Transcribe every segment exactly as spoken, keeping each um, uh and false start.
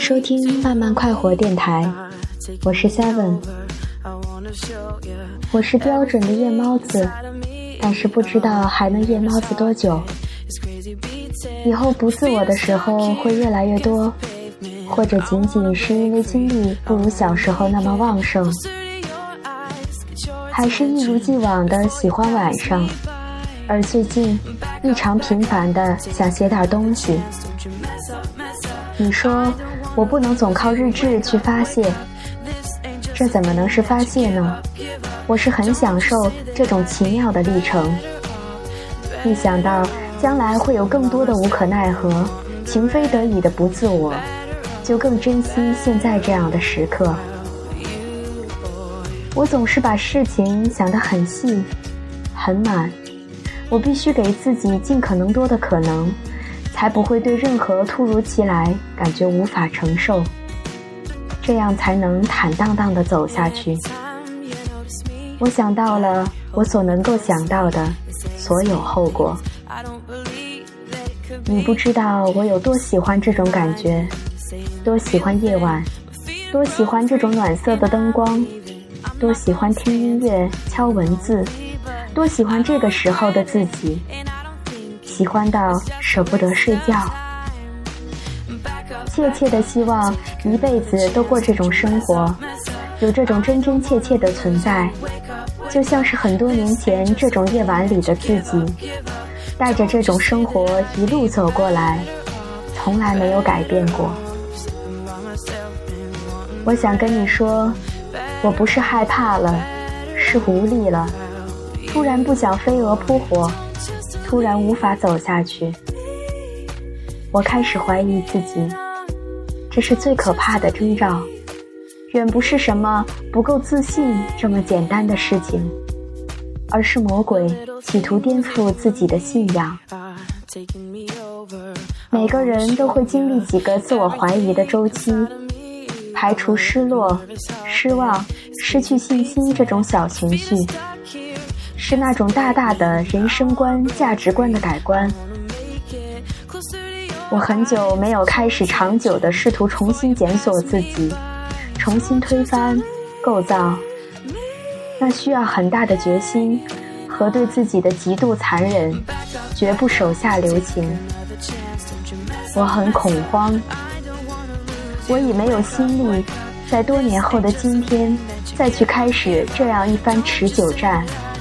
收听慢慢快活电台，我是 Seven。 我是标准的夜猫子，但是不知道还能夜猫子多久。以后不自我的时候会越来越多，或者仅仅是因为精力不如小时候那么旺盛，还是一如既往的喜欢晚上，而最近异常频繁的想写点东西。你说我不能总靠日志去发泄，这怎么能是发泄呢？我是很享受这种奇妙的历程，一想到将来会有更多的无可奈何、情非得已的不自我，就更珍惜现在这样的时刻。我总是把事情想得很细很满，我必须给自己尽可能多的可能，才不会对任何突如其来感觉无法承受，这样才能坦荡荡地走下去。我想到了我所能够想到的所有后果。你不知道我有多喜欢这种感觉，多喜欢夜晚，多喜欢这种暖色的灯光，多喜欢听音乐、敲文字，多喜欢这个时候的自己，喜欢到舍不得睡觉，切切的希望一辈子都过这种生活，有这种真真切切的存在，就像是很多年前这种夜晚里的自己，带着这种生活一路走过来，从来没有改变过。我想跟你说，我不是害怕了，是无力了，突然不想飞蛾扑火，突然无法走下去。我开始怀疑自己，这是最可怕的征兆，远不是什么不够自信这么简单的事情，而是魔鬼企图颠覆自己的信仰。每个人都会经历几个自我怀疑的周期，排除失落、失望、失去信心这种小情绪，是那种大大的人生观、价值观的改观。我很久没有开始长久地试图重新检索自己，重新推翻、构造，那需要很大的决心和对自己的极度残忍，绝不手下留情。我很恐慌，我已没有心力在多年后的今天再去开始这样一番持久战。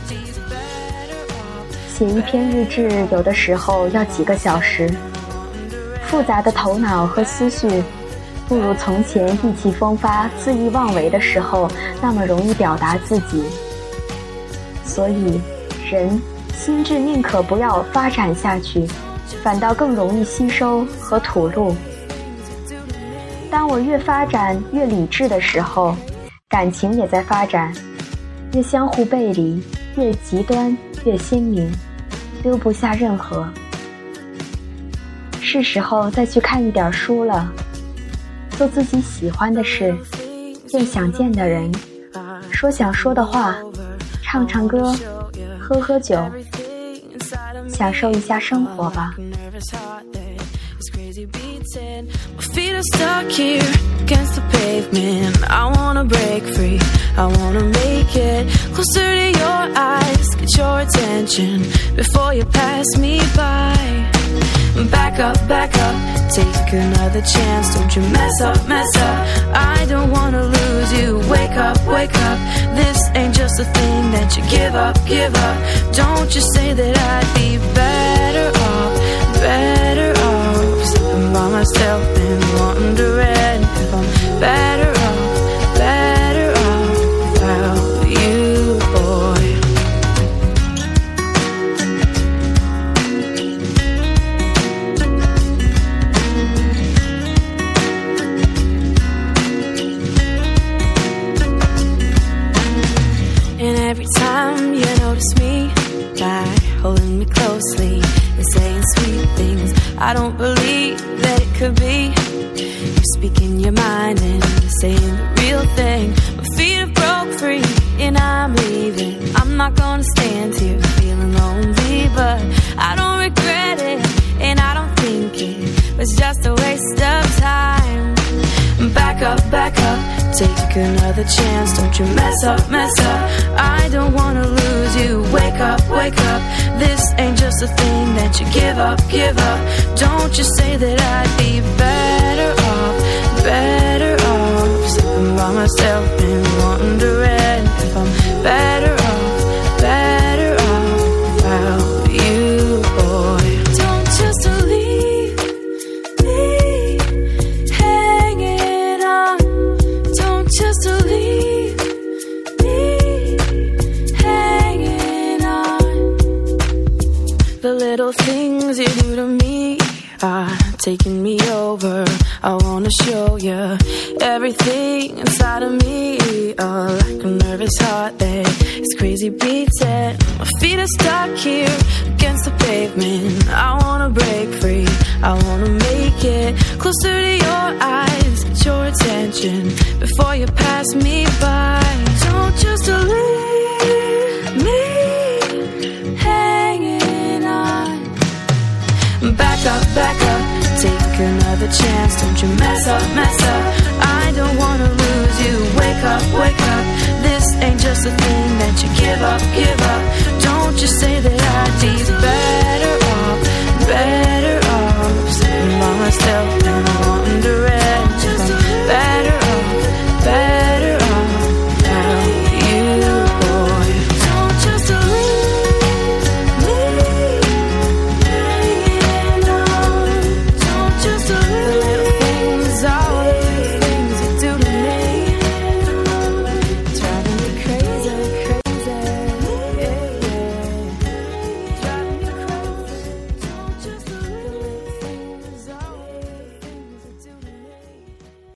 写一篇日志有的时候要几个小时，复杂的头脑和思绪不如从前意气风发、恣意妄为的时候那么容易表达自己。所以人心智宁可不要发展下去，反倒更容易吸收和吐露。当我越发展越理智的时候，感情也在发展，越相互背离，越极端，越鲜明，留不下任何。是时候再去看一点书了，做自己喜欢的事，见想见的人，说想说的话，唱唱歌，喝喝酒，享受一下生活吧。 My feet are stuck here against the pavement. I wanna break free, I wanna make it closer to your eyes, get your attention before you pass me by. Back up, back up, take another chance. Don't you mess up, mess up, I don't wanna lose you. Wake up, wake up, this ain't just a thing that you give up, give up. Don't you say that I'd be better off, better off sitting by myself and wondering if I'm better off, better off without you, boy. And every time you notice me, like holding me closely and saying sweet things, I don't believe that it could be. You're speaking your mind and saying the real thing. My feet have broke free and I'm leaving. I'm not gonna stand here feeling lonely, but I don't regret it and I don't think it was just a waste of time. up, back up, take another chance. Don't you mess up, mess up. I don't wanna lose you. Wake up, wake up. This ain't just a thing that you give up, give up. Don't you say that I'd be better off, better off sitting by myself and wondering if I'm better off, better off without you, boy. Don't just leave me hanging on. Don't just leave me hanging on. The little things you do to me are taking me over. I wanna show you everything inside of me. Oh, like a nervous heart that is crazy beating. My feet are stuck here against the pavement. I wanna break free. I wanna make it closer to your eyes, get your attention before you pass me by. Don't just leave me hanging on. Back up, back up, take another chance. Don't you mess up, mess up. I don't wanna lose you. Wake up, wake up. This ain't just a thing that you give up, give up. Don't you say that